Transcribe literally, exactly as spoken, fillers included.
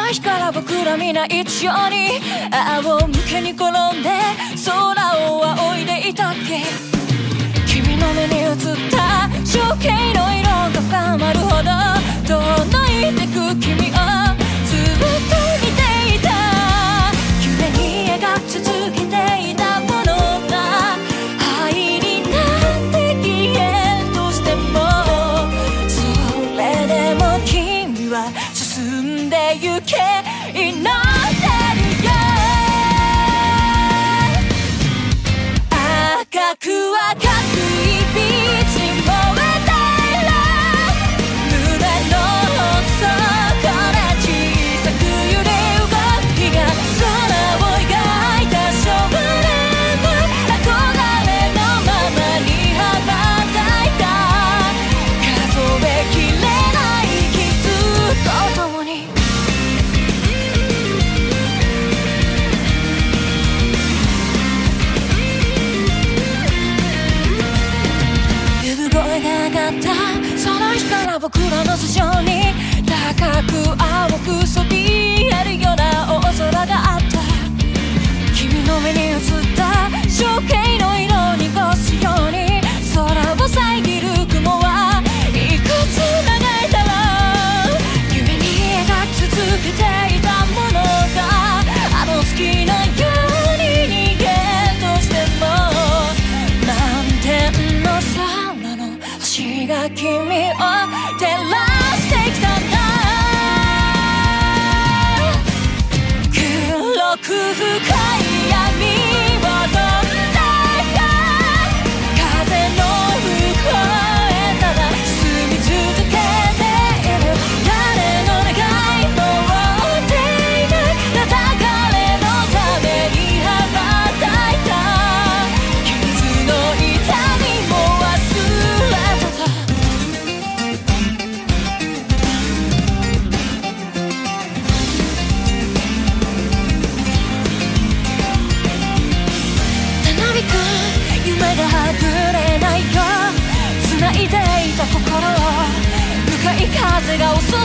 の日から僕ら皆一緒に仰向けに転んで空を仰いでいたっけ。君の目に映った情景の色が深まるほど遠のいてく君をずっと見ていた。夢に描き続けていたものが灰になって消えるとしても、それでも君は進んでゆけ祈ってるよ。赤く赤くいびつに燃えたら胸の奥底から小さく揺れ動きが空を描いた少年の憧れのままに羽ばたいた。数えきれない傷とともに声が上がったその日から僕らの頭上に高く青くそびえるような大空があった。君の目に映った情景の色に濁すように空を遮る雲はいくつ流れたら夢に描き続けていたものがあの月のように逃げとしても満天の空星が君を照らしてきたんだ。黒く深い闇を飛んで風の向こうへただ進み続けている。誰の願いも追っていない流れのために羽ばたいた。傷の痛みも忘れた。夢がはぐれないよ繋いでいた心を向かい風が襲